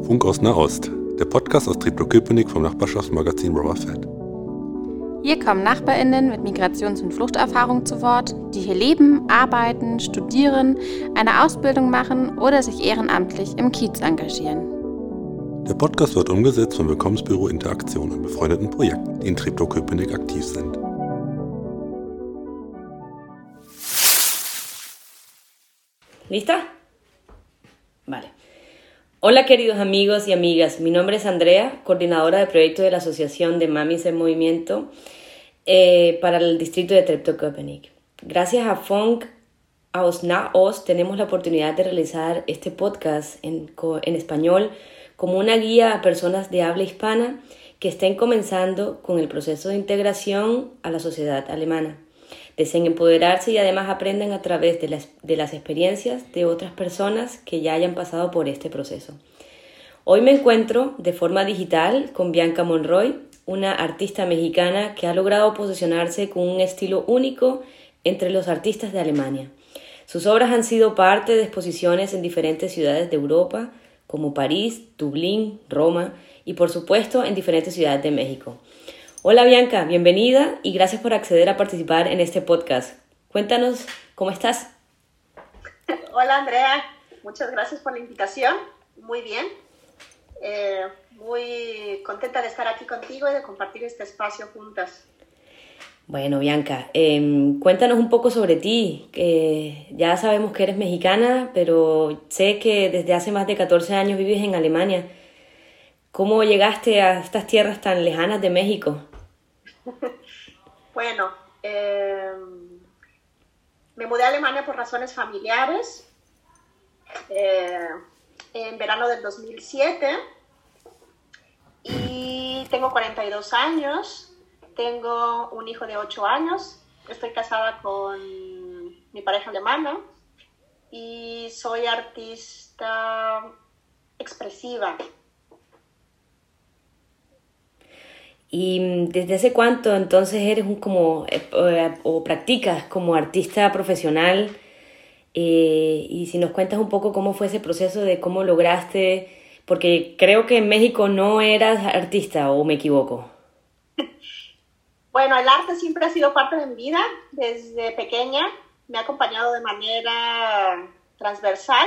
Funk aus Nahost, der Podcast aus Treptow-Köpenick vom Nachbarschaftsmagazin Rover Fett. Hier kommen NachbarInnen mit Migrations- und Fluchterfahrung zu Wort, die hier leben, arbeiten, studieren, eine Ausbildung machen oder sich ehrenamtlich im Kiez engagieren. Der Podcast wird umgesetzt vom Willkommensbüro Interaktion und befreundeten Projekten, die in Treptow-Köpenick aktiv sind. ¿Lista? Vale. Hola queridos amigos y amigas, mi nombre es Andrea, coordinadora de proyecto de la Asociación de Mamis en Movimiento para el distrito de Treptow-Köpenick. Gracias a Funk aus Nahost tenemos la oportunidad de realizar este podcast en español como una guía a personas de habla hispana que estén comenzando con el proceso de integración a la sociedad alemana. Deseen empoderarse y además aprendan a través de las experiencias de otras personas que ya hayan pasado por este proceso. Hoy me encuentro de forma digital con Bianca Monroy, una artista mexicana que ha logrado posicionarse con un estilo único entre los artistas de Alemania. Sus obras han sido parte de exposiciones en diferentes ciudades de Europa, como París, Dublín, Roma y por supuesto en diferentes ciudades de México. Hola Bianca, bienvenida y gracias por acceder a participar en este podcast. Cuéntanos, ¿cómo estás? Hola Andrea, muchas gracias por la invitación. Muy bien, muy contenta de estar aquí contigo y de compartir este espacio juntas. Bueno Bianca, cuéntanos un poco sobre ti. Ya sabemos que eres mexicana, pero sé que desde hace más de 14 años vives en Alemania. ¿Cómo llegaste a estas tierras tan lejanas de México? Bueno, me mudé a Alemania por razones familiares en verano del 2007 y tengo 42 años, tengo un hijo de 8 años, estoy casada con mi pareja alemana y soy artista expresiva. ¿Y desde hace cuánto entonces eres o practicas como artista profesional? Y si nos cuentas un poco cómo fue ese proceso de cómo lograste, porque creo que en México no eras artista, ¿o me equivoco? Bueno, el arte siempre ha sido parte de mi vida desde pequeña, me ha acompañado de manera transversal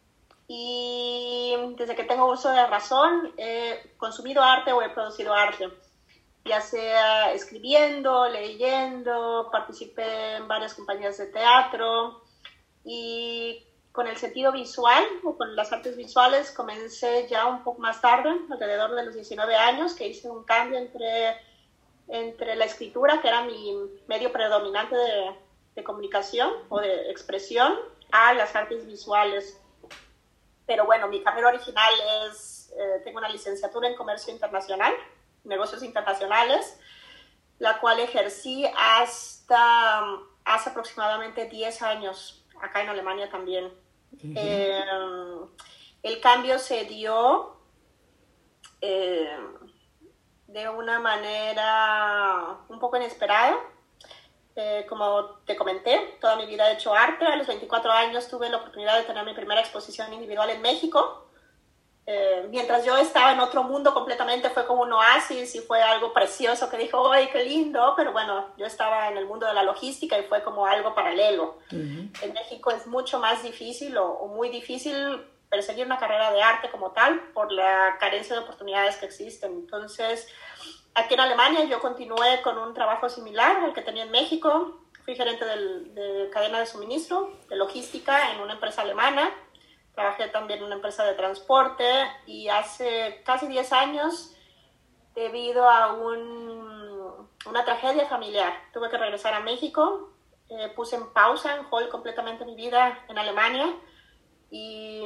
y desde que tengo uso de razón he consumido arte o he producido arte. Ya sea escribiendo, leyendo, participé en varias compañías de teatro y con el sentido visual o con las artes visuales comencé ya un poco más tarde, alrededor de los 19 años, que hice un cambio entre la escritura, que era mi medio predominante de comunicación o de expresión, a las artes visuales. Pero bueno, mi carrera original tengo una licenciatura en comercio internacional, negocios internacionales, la cual ejercí hasta hace aproximadamente 10 años, acá en Alemania también. Uh-huh. El cambio se dio de una manera un poco inesperada. Como te comenté, toda mi vida he hecho arte. A los 24 años tuve la oportunidad de tener mi primera exposición individual en México. Mientras yo estaba en otro mundo completamente, fue como un oasis y fue algo precioso que dijo, ¡ay, qué lindo! Pero bueno, yo estaba en el mundo de la logística y fue como algo paralelo. Uh-huh. En México es mucho más difícil o muy difícil perseguir una carrera de arte como tal por la carencia de oportunidades que existen. Entonces, aquí en Alemania yo continué con un trabajo similar al que tenía en México. Fui gerente de cadena de suministro, de logística en una empresa alemana. Trabajé también en una empresa de transporte y hace casi 10 años, debido a una tragedia familiar, tuve que regresar a México. Puse en pausa, en hold completamente mi vida en Alemania y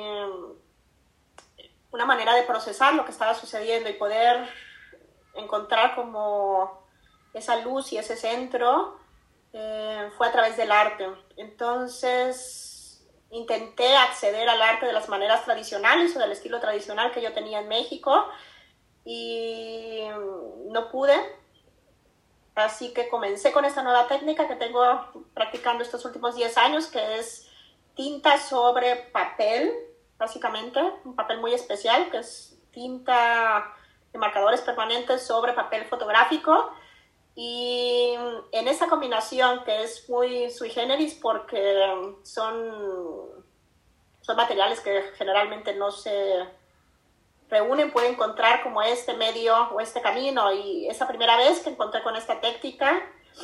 una manera de procesar lo que estaba sucediendo y poder encontrar como esa luz y ese centro fue a través del arte. Entonces intenté acceder al arte de las maneras tradicionales o del estilo tradicional que yo tenía en México y no pude. Así que comencé con esta nueva técnica que tengo practicando estos últimos 10 años, que es tinta sobre papel, básicamente, un papel muy especial que es tinta de marcadores permanentes sobre papel fotográfico. Y en esa combinación, que es muy sui generis porque son materiales que generalmente no se reúnen, puede encontrar como este medio o este camino. Y esa primera vez que encontré con esta técnica,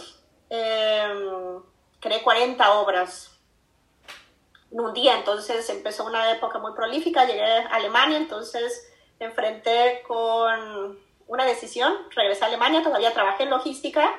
creé 40 obras en un día. Entonces empezó una época muy prolífica, llegué a Alemania, entonces me enfrenté con una decisión, regresé a Alemania, todavía trabajé en logística,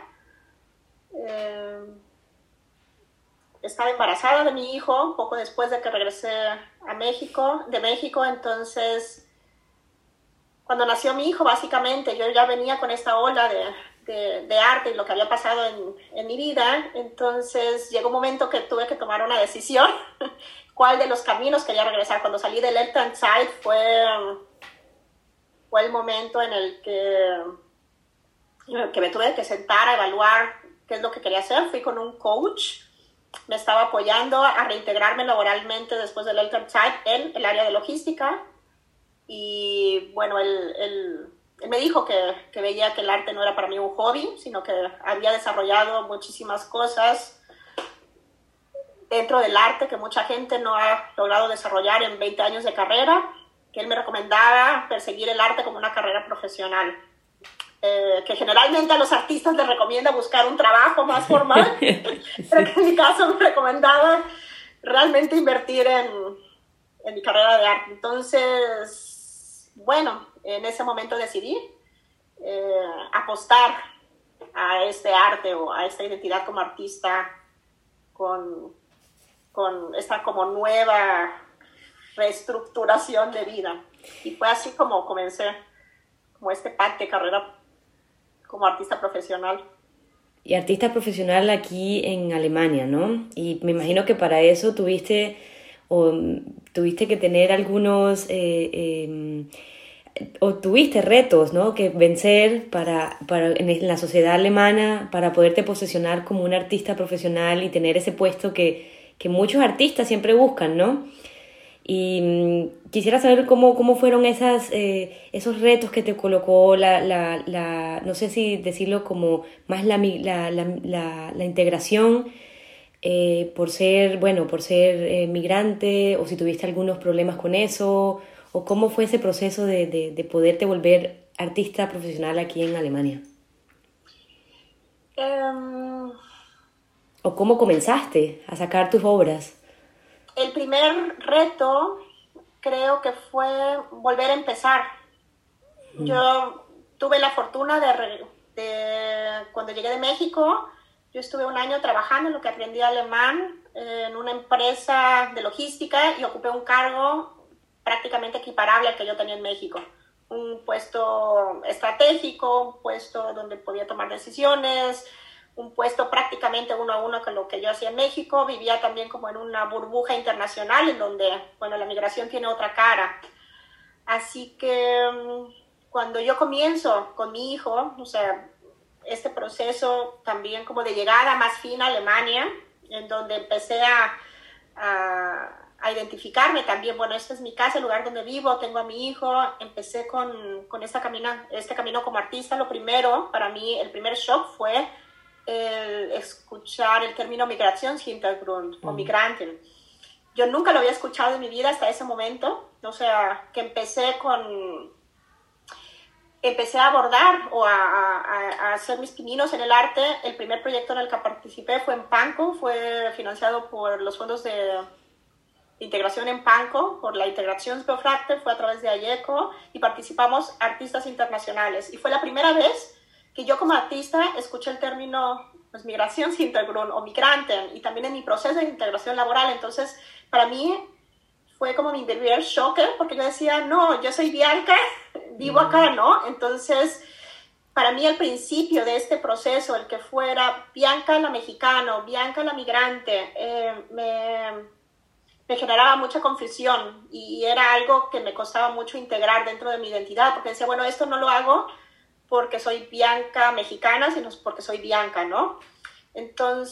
estaba embarazada de mi hijo poco después de que regresé de México, entonces cuando nació mi hijo, básicamente yo ya venía con esta ola de arte y lo que había pasado en mi vida, entonces llegó un momento que tuve que tomar una decisión, cuál de los caminos quería regresar. Cuando salí del Elternzeit fue el momento en el que me tuve que sentar a evaluar qué es lo que quería hacer. Fui con un coach, me estaba apoyando a reintegrarme laboralmente después del Elternzeit en el área de logística. Y bueno, él me dijo que veía que el arte no era para mí un hobby, sino que había desarrollado muchísimas cosas dentro del arte que mucha gente no ha logrado desarrollar en 20 años de carrera, que él me recomendaba perseguir el arte como una carrera profesional. Que generalmente a los artistas les recomienda buscar un trabajo más formal, pero que en mi caso me recomendaba realmente invertir en mi carrera de arte. Entonces, bueno, en ese momento decidí apostar a este arte o a esta identidad como artista con esta como nueva reestructuración de vida. Y fue así como comencé como este path de carrera como artista profesional. Y artista profesional aquí en Alemania, ¿no? Y me imagino que para eso tuviste que tener algunos o tuviste retos, ¿no?, que vencer en la sociedad alemana para poderte posicionar como un artista profesional y tener ese puesto que muchos artistas siempre buscan, ¿no? Y quisiera saber cómo fueron esos retos que te colocó no sé si decirlo como más la integración por ser migrante, o si tuviste algunos problemas con eso, o cómo fue ese proceso de poderte volver artista profesional aquí en Alemania. ¿O cómo comenzaste a sacar tus obras? El primer reto creo que fue volver a empezar. Yo tuve la fortuna de cuando llegué de México, yo estuve un año trabajando en lo que aprendí alemán en una empresa de logística y ocupé un cargo prácticamente equiparable al que yo tenía en México. Un puesto estratégico, un puesto donde podía tomar decisiones, un puesto prácticamente uno a uno con lo que yo hacía en México. Vivía también como en una burbuja internacional en donde, bueno, la migración tiene otra cara. Así que cuando yo comienzo con mi hijo, o sea, este proceso también como de llegada más fina a Alemania, en donde empecé a identificarme también, bueno, esta es mi casa, el lugar donde vivo, tengo a mi hijo, empecé con este camino como artista. Lo primero, para mí, el primer shock fue escuchar el término Migrationshintergrund o Migranten. Yo nunca lo había escuchado en mi vida hasta ese momento, o sea, que empecé a abordar o a hacer mis pininos en el arte. El primer proyecto en el que participé fue en Pankow, fue financiado por los fondos de integración en Pankow, por la Integrationsbeauftragte, fue a través de AIECO, y participamos artistas internacionales. Y fue la primera vez que yo como artista escuché el término pues, Migrationshintergrund o Migranten, y también en mi proceso de integración laboral. Entonces, para mí fue como mi primer shock, porque yo decía, no, yo soy Bianca, vivo acá, ¿no? Entonces, para mí el principio de este proceso, el que fuera Bianca la mexicana, Bianca la migrante, me generaba mucha confusión y era algo que me costaba mucho integrar dentro de mi identidad, porque decía, bueno, esto no lo hago porque soy Bianca mexicana, sino porque soy Bianca, ¿no?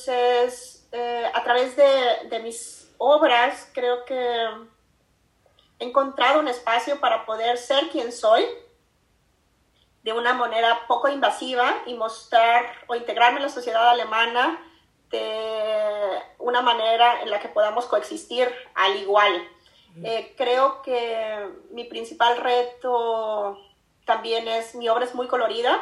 Entonces, a través de mis obras, creo que he encontrado un espacio para poder ser quien soy de una manera poco invasiva y mostrar o integrarme en la sociedad alemana de una manera en la que podamos coexistir al igual. Creo que mi principal reto también es, mi obra es muy colorida,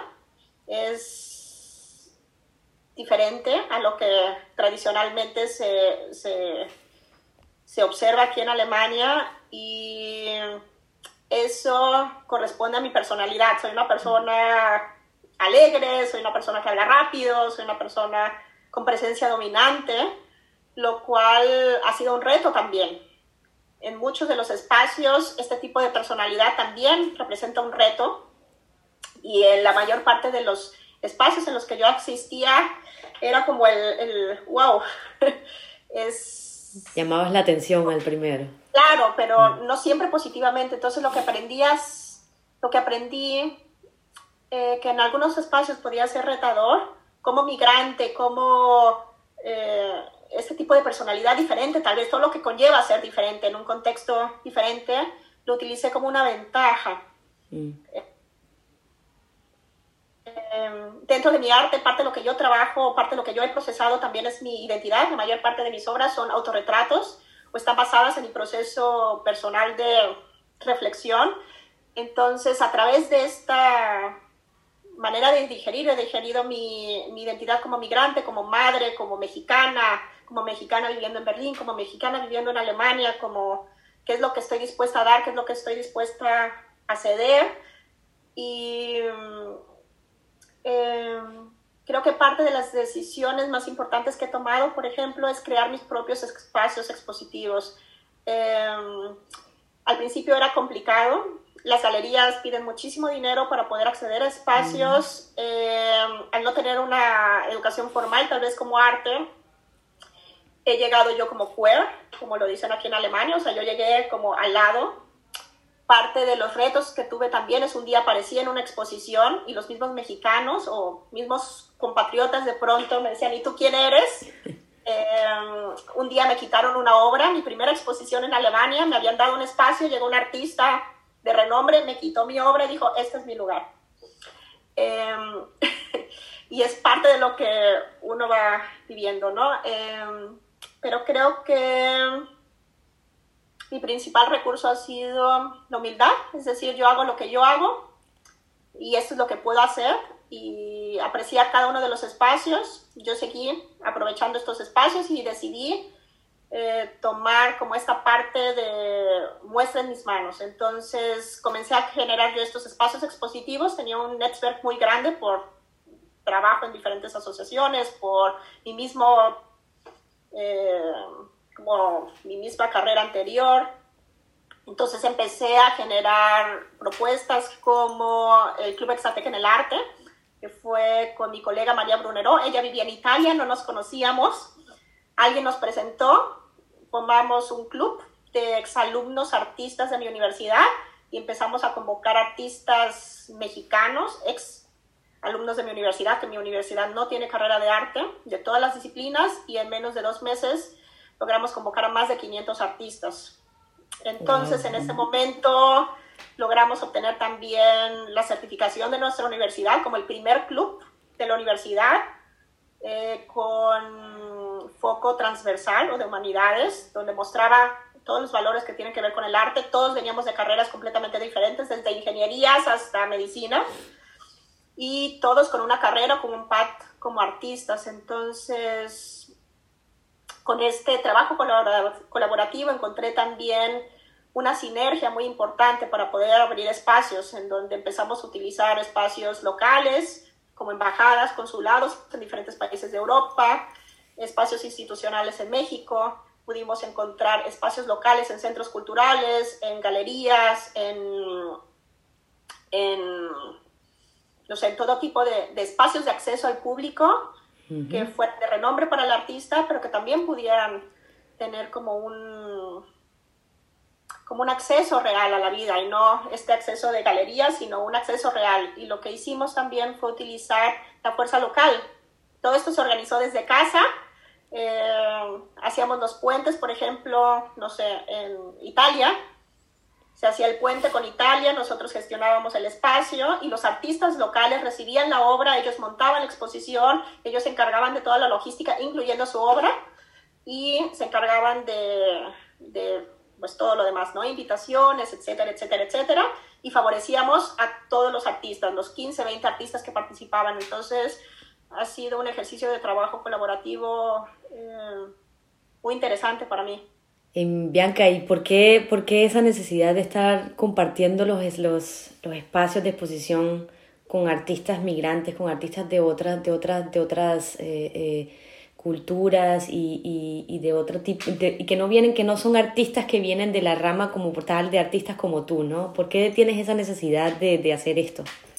es diferente a lo que tradicionalmente se observa aquí en Alemania, y eso corresponde a mi personalidad. Soy una persona alegre, soy una persona que habla rápido, soy una persona con presencia dominante, lo cual ha sido un reto también. En muchos de los espacios, este tipo de personalidad también representa un reto, y en la mayor parte de los espacios en los que yo asistía era como el wow, Llamabas la atención al primero. Claro, pero no siempre positivamente. Entonces lo que aprendí, que en algunos espacios podía ser retador, como migrante, como este tipo de personalidad diferente, tal vez todo lo que conlleva ser diferente en un contexto diferente, lo utilicé como una ventaja. Dentro de mi arte, parte de lo que yo trabajo, parte de lo que yo he procesado también es mi identidad. La mayor parte de mis obras son autorretratos o están basadas en mi proceso personal de reflexión. Entonces, a través de esta manera de digerir, he digerido mi identidad como migrante, como madre, como mexicana viviendo en Berlín, como mexicana viviendo en Alemania, como qué es lo que estoy dispuesta a dar, qué es lo que estoy dispuesta a ceder. Y creo que parte de las decisiones más importantes que he tomado, por ejemplo, es crear mis propios espacios expositivos. Al principio era complicado. Las galerías piden muchísimo dinero para poder acceder a espacios. Al no tener una educación formal, tal vez como arte, he llegado yo como queer, como lo dicen aquí en Alemania. O sea, yo llegué como al lado. Parte de los retos que tuve también es un día aparecí en una exposición y los mismos mexicanos o mismos compatriotas de pronto me decían, ¿y tú quién eres? Un día me quitaron una obra, mi primera exposición en Alemania, me habían dado un espacio, llegó un artista de renombre, me quitó mi obra y dijo, este es mi lugar. Y es parte de lo que uno va viviendo, ¿no? Pero creo que mi principal recurso ha sido la humildad, es decir, yo hago lo que yo hago y esto es lo que puedo hacer, y apreciar cada uno de los espacios. Yo seguí aprovechando estos espacios y decidí tomar como esta parte de muestra en mis manos. Entonces comencé a generar yo estos espacios expositivos. Tenía un network muy grande por trabajo en diferentes asociaciones, por mi mismo como mi misma carrera anterior. Entonces empecé a generar propuestas como el Club Exatec en el Arte, que fue con mi colega María Brunero. Ella vivía en Italia, no nos conocíamos. Alguien nos presentó, formamos un club de exalumnos artistas de mi universidad y empezamos a convocar artistas mexicanos, ex alumnos de mi universidad, que mi universidad no tiene carrera de arte, de todas las disciplinas, y en menos de 2 meses logramos convocar a más de 500 artistas. Entonces, en ese momento logramos obtener también la certificación de nuestra universidad como el primer club de la universidad con foco transversal o de humanidades, donde mostraba todos los valores que tienen que ver con el arte. Todos veníamos de carreras completamente diferentes, desde ingenierías hasta medicina, y todos con una carrera, con un path como artistas. Entonces, con este trabajo colaborativo encontré también una sinergia muy importante para poder abrir espacios en donde empezamos a utilizar espacios locales como embajadas, consulados en diferentes países de Europa, espacios institucionales en México. Pudimos encontrar espacios locales en centros culturales, en galerías, en todo tipo de espacios de acceso al público que fueran de renombre para el artista, pero que también pudieran tener como un acceso real a la vida, y no este acceso de galerías, sino un acceso real. Y lo que hicimos también fue utilizar la fuerza local. Todo esto se organizó desde casa. Hacíamos los puentes, por ejemplo, no sé, en Italia, se hacía el puente con Italia, nosotros gestionábamos el espacio y los artistas locales recibían la obra, ellos montaban la exposición, ellos se encargaban de toda la logística, incluyendo su obra, y se encargaban de pues todo lo demás, ¿no? Invitaciones, etcétera, etcétera, etcétera, y favorecíamos a todos los artistas, los 15, 20 artistas que participaban. Entonces ha sido un ejercicio de trabajo colaborativo muy interesante para mí. Bianca, ¿y por qué esa necesidad de estar compartiendo los espacios de exposición con artistas migrantes, con artistas de otras culturas y de otro tipo, y que no son artistas que vienen de la rama como tal de artistas como tú, ¿no? ¿Por qué tienes esa necesidad de hacer esto?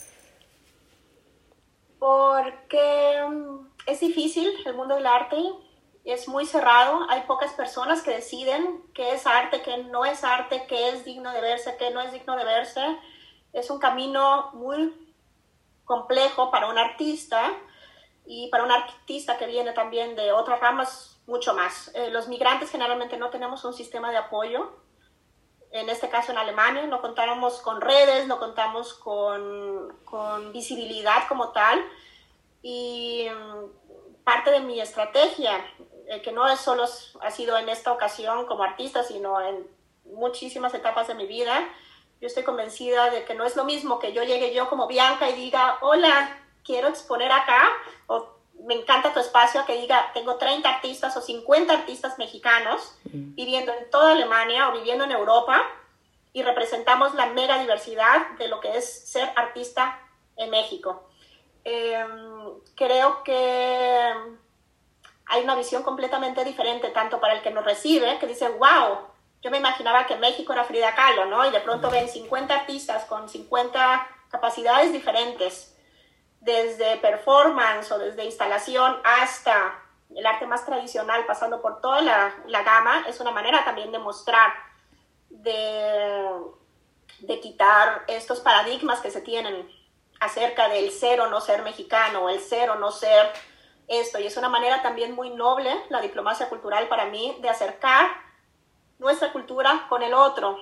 Porque es difícil el mundo del arte. Es muy cerrado, hay pocas personas que deciden qué es arte, qué no es arte, qué es digno de verse, qué no es digno de verse. Es un camino muy complejo para un artista y para un artista que viene también de otras ramas mucho más. Los migrantes generalmente no tenemos un sistema de apoyo. En este caso en Alemania no contamos con redes, no contamos con visibilidad como tal. Y parte de mi estrategia, que no es solo ha sido en esta ocasión como artista, sino en muchísimas etapas de mi vida, yo estoy convencida de que no es lo mismo que yo llegue yo como Bianca y diga, hola, quiero exponer acá, o me encanta tu espacio, que diga, tengo 30 artistas o 50 artistas mexicanos viviendo en toda Alemania o viviendo en Europa y representamos la mega diversidad de lo que es ser artista en México. Creo que hay una visión completamente diferente, tanto para el que nos recibe, que dice, wow, yo me imaginaba que México era Frida Kahlo, ¿no? Y de pronto ven 50 artistas con 50 capacidades diferentes, desde performance o desde instalación hasta el arte más tradicional, pasando por toda la gama. Es una manera también de mostrar, de quitar estos paradigmas que se tienen acerca del ser o no ser mexicano, o el ser o no ser esto. Y es una manera también muy noble, la diplomacia cultural para mí, de acercar nuestra cultura con el otro.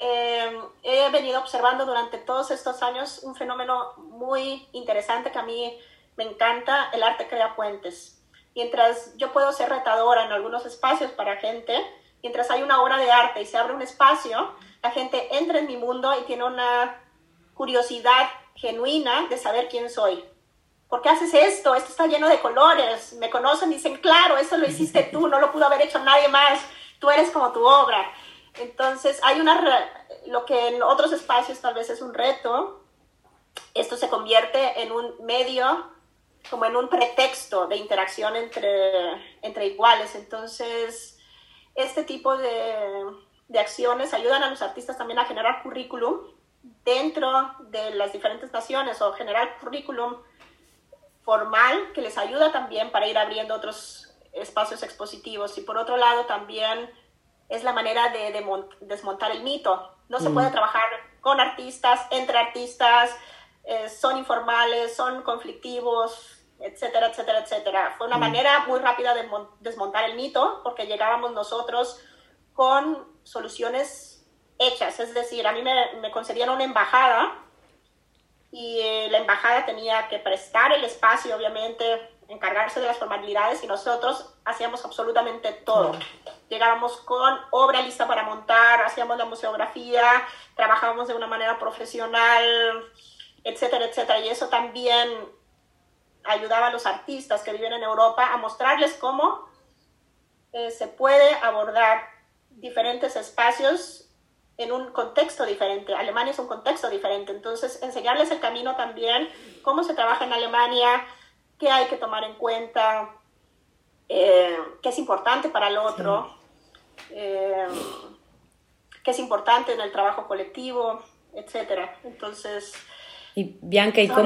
He venido observando durante todos estos años un fenómeno muy interesante que a mí me encanta: el arte crea puentes. Mientras yo puedo ser retadora en algunos espacios para gente, mientras hay una obra de arte y se abre un espacio, la gente entra en mi mundo y tiene una curiosidad genuina de saber quién soy. ¿Por qué haces esto? Esto está lleno de colores. Me conocen y dicen, claro, eso lo hiciste tú, no lo pudo haber hecho nadie más. Tú eres como tu obra. Entonces, hay lo que en otros espacios tal vez es un reto, esto se convierte en un medio, como en un pretexto de interacción entre iguales. Entonces, este tipo de acciones ayudan a los artistas también a generar currículum dentro de las diferentes naciones, o generar currículum formal que les ayuda también para ir abriendo otros espacios expositivos. Y por otro lado también es la manera de desmontar el mito. No se puede trabajar con artistas, entre artistas, son informales, son conflictivos, etcétera, etcétera, etcétera. Fue una manera muy rápida de desmontar el mito, porque llegábamos nosotros con soluciones hechas. Es decir, a mí me concedían una embajada y la embajada tenía que prestar el espacio, obviamente, encargarse de las formalidades, y nosotros hacíamos absolutamente todo. Llegábamos con obra lista para montar, hacíamos la museografía, trabajábamos de una manera profesional, etcétera, etcétera. Y eso también ayudaba a los artistas que viven en Europa a mostrarles cómo se puede abordar diferentes espacios en un contexto diferente. Alemania es un contexto diferente, entonces enseñarles el camino también, cómo se trabaja en Alemania, qué hay que tomar en cuenta, qué es importante para el otro, qué es importante en el trabajo colectivo, etcétera. Entonces... Y Bianca, ¿y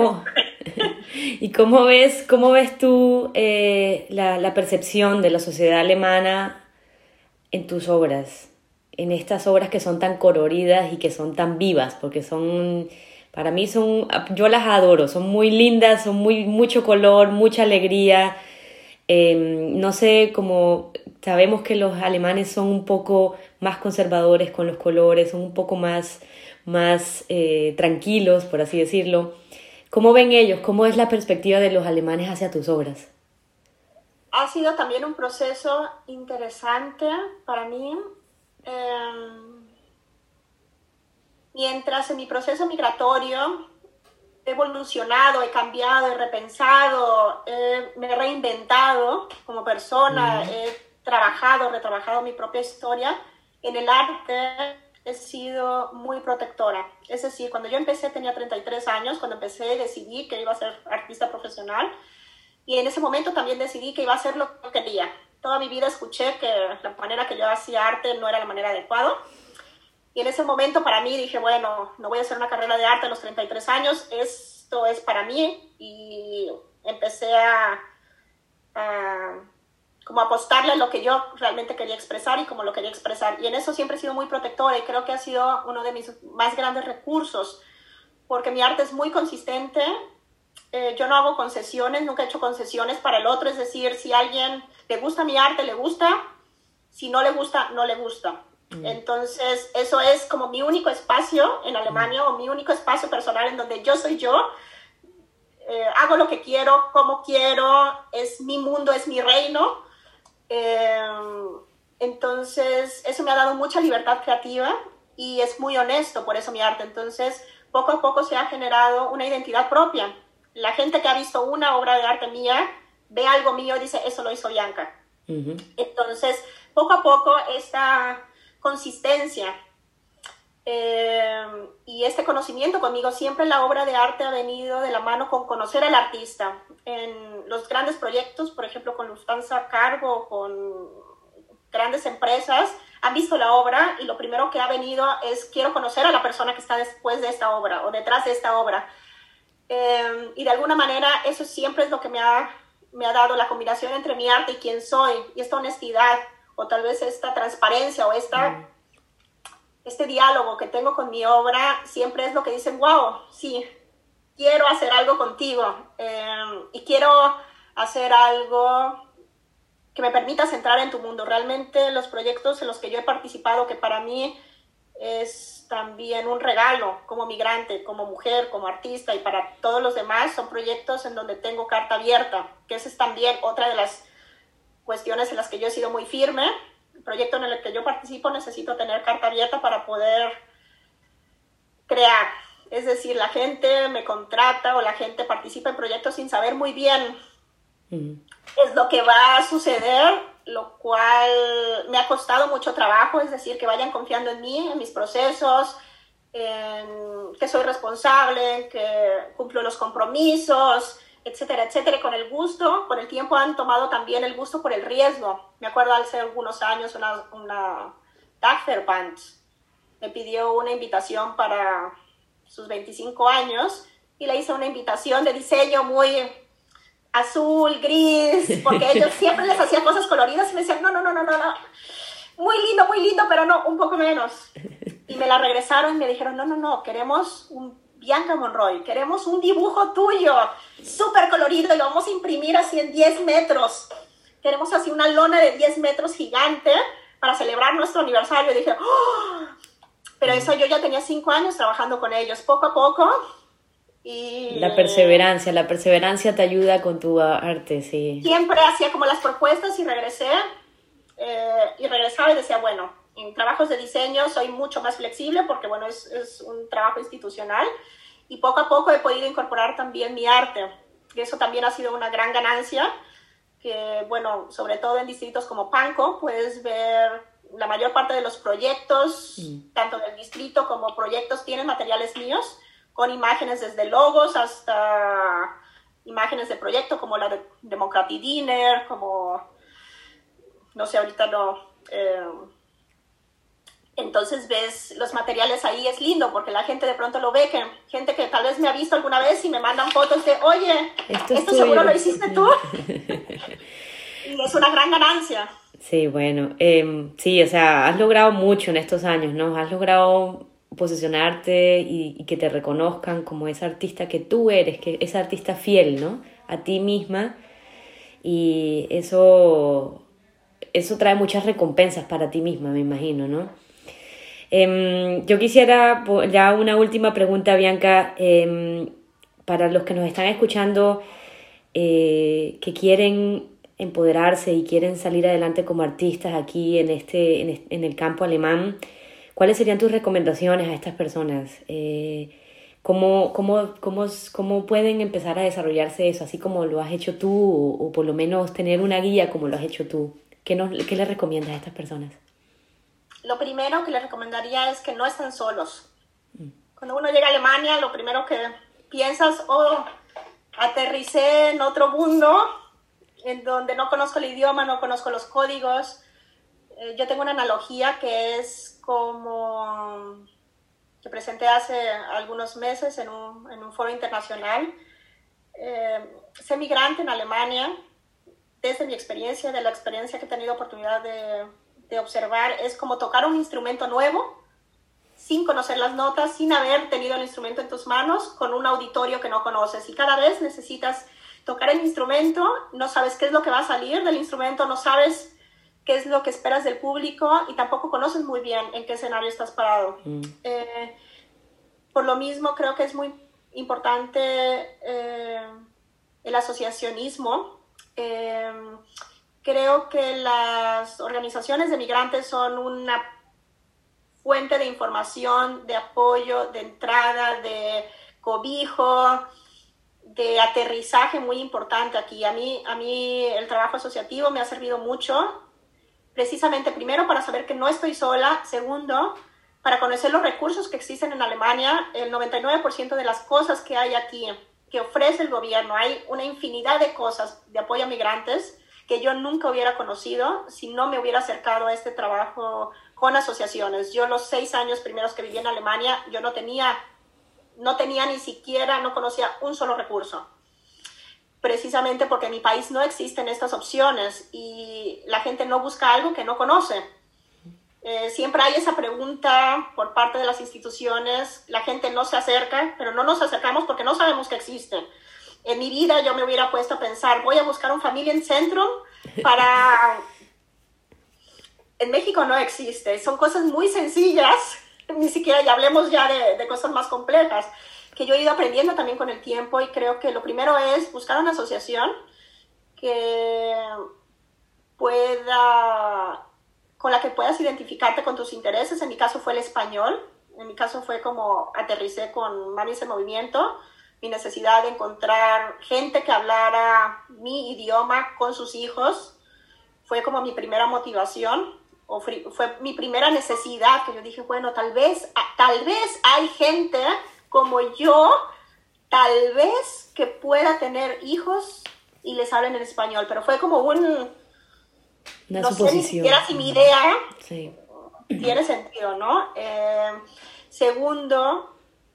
cómo ves tú la percepción de la sociedad alemana en tus obras? En estas obras que son tan coloridas y que son tan vivas, porque para mí yo las adoro, son muy lindas, son mucho color, mucha alegría. No sé, sabemos que los alemanes son un poco más conservadores con los colores, son un poco más tranquilos, por así decirlo. ¿Cómo ven ellos? ¿Cómo es la perspectiva de los alemanes hacia tus obras? Ha sido también un proceso interesante para mí. Mientras en mi proceso migratorio he evolucionado, he cambiado, he repensado, me he reinventado como persona, he retrabajado mi propia historia, en el arte he sido muy protectora. Es decir, cuando yo empecé tenía 33 años, cuando empecé decidí que iba a ser artista profesional y en ese momento también decidí que iba a hacer lo que quería. Toda mi vida escuché que la manera que yo hacía arte no era la manera adecuada. Y en ese momento para mí dije, bueno, no voy a hacer una carrera de arte a los 33 años, esto es para mí. Y empecé como apostarle a lo que yo realmente quería expresar y como lo quería expresar. Y en eso siempre he sido muy protectora y creo que ha sido uno de mis más grandes recursos, porque mi arte es muy consistente. Yo no hago concesiones, nunca he hecho concesiones para el otro. Es decir, si a alguien le gusta mi arte, le gusta. Si no le gusta, no le gusta. Entonces, eso es como mi único espacio en Alemania o mi único espacio personal en donde yo soy yo. Hago lo que quiero, como quiero, es mi mundo, es mi reino. Entonces, eso me ha dado mucha libertad creativa y es muy honesto, por eso mi arte. Entonces, poco a poco se ha generado una identidad propia. La gente que ha visto una obra de arte mía, ve algo mío y dice, eso lo hizo Bianca. Entonces, poco a poco esta consistencia y este conocimiento conmigo, siempre la obra de arte ha venido de la mano con conocer al artista. En los grandes proyectos, por ejemplo con Lufthansa Cargo, con grandes empresas, han visto la obra y lo primero que ha venido es quiero conocer a la persona que está después de esta obra o detrás de esta obra. Y de alguna manera eso siempre es lo que me ha dado la combinación entre mi arte y quién soy, y esta honestidad o tal vez esta transparencia o este diálogo que tengo con mi obra siempre es lo que dicen, wow, sí, quiero hacer algo contigo y quiero hacer algo que me permita centrar en tu mundo. Realmente los proyectos en los que yo he participado, que para mí es también un regalo como migrante, como mujer, como artista y para todos los demás, son proyectos en donde tengo carta abierta, que esa es también otra de las cuestiones en las que yo he sido muy firme. El proyecto en el que yo participo necesito tener carta abierta para poder crear. Es decir, la gente me contrata o la gente participa en proyectos sin saber muy bien es lo que va a suceder, lo cual me ha costado mucho trabajo, es decir, que vayan confiando en mí, en mis procesos, en que soy responsable, que cumplo los compromisos, etcétera, etcétera. Con el gusto, con el tiempo han tomado también el gusto por el riesgo. Me acuerdo hace algunos años una Dagverband me pidió una invitación para sus 25 años y le hice una invitación de diseño muy azul, gris, porque ellos siempre les hacía cosas coloridas y me decían, no, muy lindo, pero no, un poco menos. Y me la regresaron y me dijeron, no, queremos un Bianca Monroy, queremos un dibujo tuyo, súper colorido, y lo vamos a imprimir así en 10 metros. Queremos así una lona de 10 metros gigante para celebrar nuestro aniversario. Y dije, ¡oh! Pero eso yo ya tenía 5 años trabajando con ellos, poco a poco. Y la perseverancia te ayuda con tu arte, sí. Siempre hacía como las propuestas y regresaba y decía, bueno, en trabajos de diseño soy mucho más flexible porque, bueno, es un trabajo institucional y poco a poco he podido incorporar también mi arte. Y eso también ha sido una gran ganancia, que, bueno, sobre todo en distritos como Pankow puedes ver la mayor parte de los proyectos, tanto del distrito como proyectos, tienen materiales míos, con imágenes desde logos hasta imágenes de proyecto como la de Democracy Dinner, como, no sé, ahorita no. Entonces ves los materiales ahí, es lindo porque la gente de pronto lo ve, que gente que tal vez me ha visto alguna vez y me mandan fotos de, oye, esto seguro lo hiciste tú. Y es una gran ganancia. Sí, bueno, sí, o sea, has logrado mucho en estos años, ¿no? Has logrado posicionarte y que te reconozcan como esa artista que tú eres, que esa artista fiel, ¿no? A ti misma. Y eso eso trae muchas recompensas para ti misma, me imagino, ¿no? Yo quisiera ya una última pregunta, Bianca, para los que nos están escuchando, que quieren empoderarse y quieren salir adelante como artistas aquí en el campo alemán. ¿Cuáles serían tus recomendaciones a estas personas? ¿Cómo pueden empezar a desarrollarse eso, así como lo has hecho tú, o por lo menos tener una guía como lo has hecho tú? ¿Qué les recomiendas a estas personas? Lo primero que les recomendaría es que no están solos. Cuando uno llega a Alemania, lo primero que piensas, aterricé en otro mundo, en donde no conozco el idioma, no conozco los códigos. Yo tengo una analogía que es como que presenté hace algunos meses en un foro internacional. Ser migrante en Alemania, desde mi experiencia, de la experiencia que he tenido oportunidad de observar, es como tocar un instrumento nuevo, sin conocer las notas, sin haber tenido el instrumento en tus manos, con un auditorio que no conoces. Y cada vez necesitas tocar el instrumento, no sabes qué es lo que va a salir del instrumento, no sabes qué es lo que esperas del público y tampoco conoces muy bien en qué escenario estás parado. Por lo mismo, creo que es muy importante el asociacionismo. Creo que las organizaciones de migrantes son una fuente de información, de apoyo, de entrada, de cobijo, de aterrizaje muy importante aquí. A mí el trabajo asociativo me ha servido mucho, precisamente primero para saber que no estoy sola, segundo, para conocer los recursos que existen en Alemania. El 99% de las cosas que hay aquí, que ofrece el gobierno, hay una infinidad de cosas de apoyo a migrantes que yo nunca hubiera conocido si no me hubiera acercado a este trabajo con asociaciones. Yo los 6 años primeros que viví en Alemania, yo no tenía ni siquiera, no conocía un solo recurso. Precisamente porque en mi país no existen estas opciones y la gente no busca algo que no conoce. Siempre hay esa pregunta por parte de las instituciones, la gente no se acerca, pero no nos acercamos porque no sabemos que existen. En mi vida yo me hubiera puesto a pensar, voy a buscar un Familienzentrum para... En México no existe, son cosas muy sencillas, ni siquiera ya hablemos ya de cosas más complejas, que yo he ido aprendiendo también con el tiempo, y creo que lo primero es buscar una asociación con la que puedas identificarte con tus intereses. En mi caso fue el español, en mi caso fue como aterricé con Mamis en Movimiento, mi necesidad de encontrar gente que hablara mi idioma con sus hijos, fue como mi primera motivación, fue mi primera necesidad, que yo dije, bueno, tal vez hay gente como yo, tal vez que pueda tener hijos y les hablen en español, pero fue como una no suposición. Sé ni siquiera si mi idea tiene sentido, ¿no? Segundo,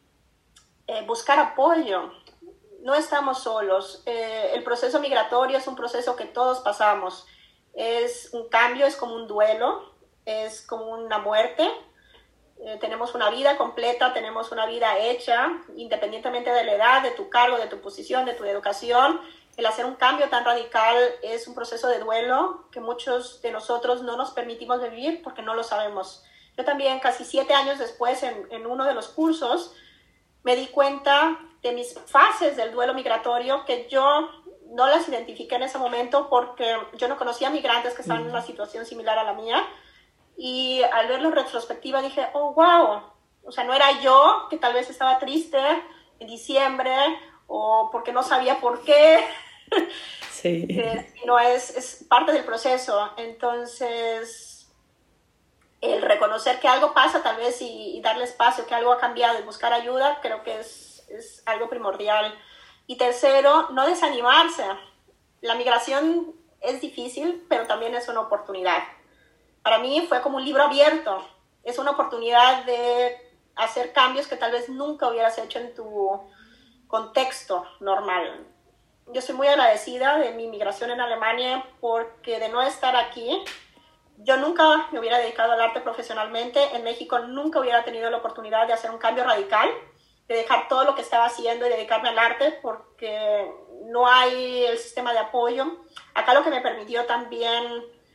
buscar apoyo. No estamos solos. El proceso migratorio es un proceso que todos pasamos. Es un cambio, es como un duelo, es como una muerte. Tenemos una vida completa, tenemos una vida hecha, independientemente de la edad, de tu cargo, de tu posición, de tu educación. El hacer un cambio tan radical es un proceso de duelo que muchos de nosotros no nos permitimos vivir porque no lo sabemos. Yo también, casi 7 años después, en uno de los cursos, me di cuenta de mis fases del duelo migratorio, que yo no las identifiqué en ese momento porque yo no conocía migrantes que estaban en una situación similar a la mía. Y al verlo en retrospectiva dije, oh, wow, o sea, no era yo que tal vez estaba triste en diciembre o porque no sabía por qué, sí. No, es parte del proceso. Entonces, el reconocer que algo pasa tal vez y darle espacio, que algo ha cambiado y buscar ayuda, creo que es algo primordial. Y tercero, no desanimarse. La migración es difícil, pero también es una oportunidad. Para mí fue como un libro abierto. Es una oportunidad de hacer cambios que tal vez nunca hubieras hecho en tu contexto normal. Yo soy muy agradecida de mi migración en Alemania porque de no estar aquí, yo nunca me hubiera dedicado al arte profesionalmente. En México nunca hubiera tenido la oportunidad de hacer un cambio radical, de dejar todo lo que estaba haciendo y dedicarme al arte porque no hay el sistema de apoyo. Acá lo que me permitió también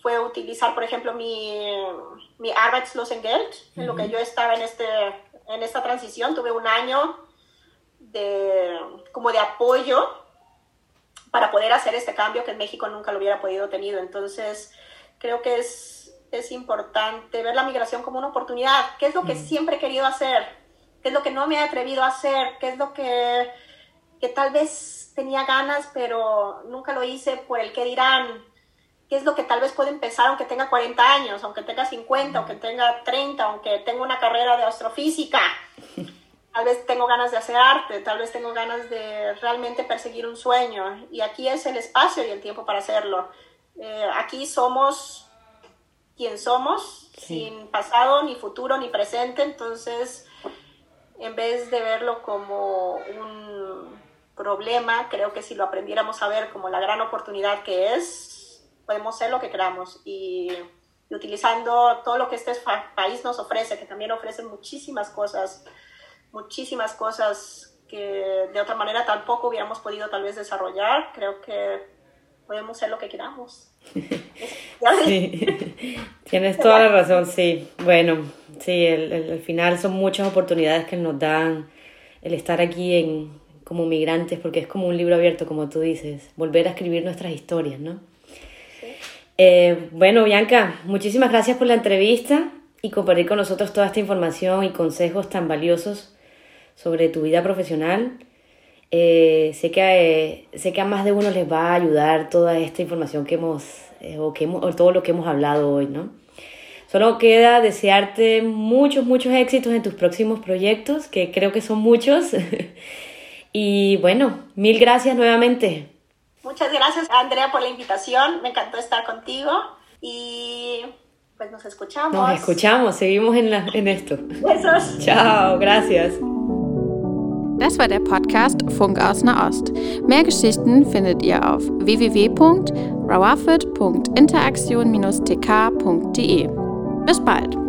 fue utilizar, por ejemplo, mi Arbeitslosengeld, en lo que yo estaba en esta transición. Tuve un año como de apoyo para poder hacer este cambio que en México nunca lo hubiera podido tener. Entonces, creo que es importante ver la migración como una oportunidad. ¿Qué es lo que siempre he querido hacer? ¿Qué es lo que no me he atrevido a hacer? ¿Qué es lo que tal vez tenía ganas, pero nunca lo hice por el qué dirán? ¿Qué es lo que tal vez puedo empezar aunque tenga 40 años, aunque tenga 50, aunque tenga 30, aunque tenga una carrera de astrofísica? Tal vez tengo ganas de hacer arte, tal vez tengo ganas de realmente perseguir un sueño. Y aquí es el espacio y el tiempo para hacerlo. Aquí somos quien somos, sin pasado, ni futuro, ni presente. Entonces, en vez de verlo como un problema, creo que si lo aprendiéramos a ver como la gran oportunidad que es, podemos ser lo que queramos. Y utilizando todo lo que este país nos ofrece, que también ofrece muchísimas cosas que de otra manera tampoco hubiéramos podido tal vez desarrollar. Creo que podemos ser lo que queramos. Sí. Tienes toda la razón, sí. Bueno, sí, al final son muchas oportunidades que nos dan el estar aquí como migrantes, porque es como un libro abierto, como tú dices, volver a escribir nuestras historias, ¿no? Sí. Bueno, Bianca, muchísimas gracias por la entrevista y compartir con nosotros toda esta información y consejos tan valiosos sobre tu vida profesional. Sé que a más de uno les va a ayudar toda esta información que hemos o todo lo que hemos hablado hoy, ¿no? Solo queda desearte muchos éxitos en tus próximos proyectos, que creo que son muchos. Y bueno, 1000 gracias nuevamente. Muchas gracias, Andrea, por la invitación. Me encantó estar contigo y pues nos escuchamos. Nos escuchamos, seguimos en esto. Besos. Ciao, gracias. Das war der Podcast Funk aus Nahost. Mehr Geschichten findet ihr auf www.rawafed.interaktion-tk.de. Bis bald!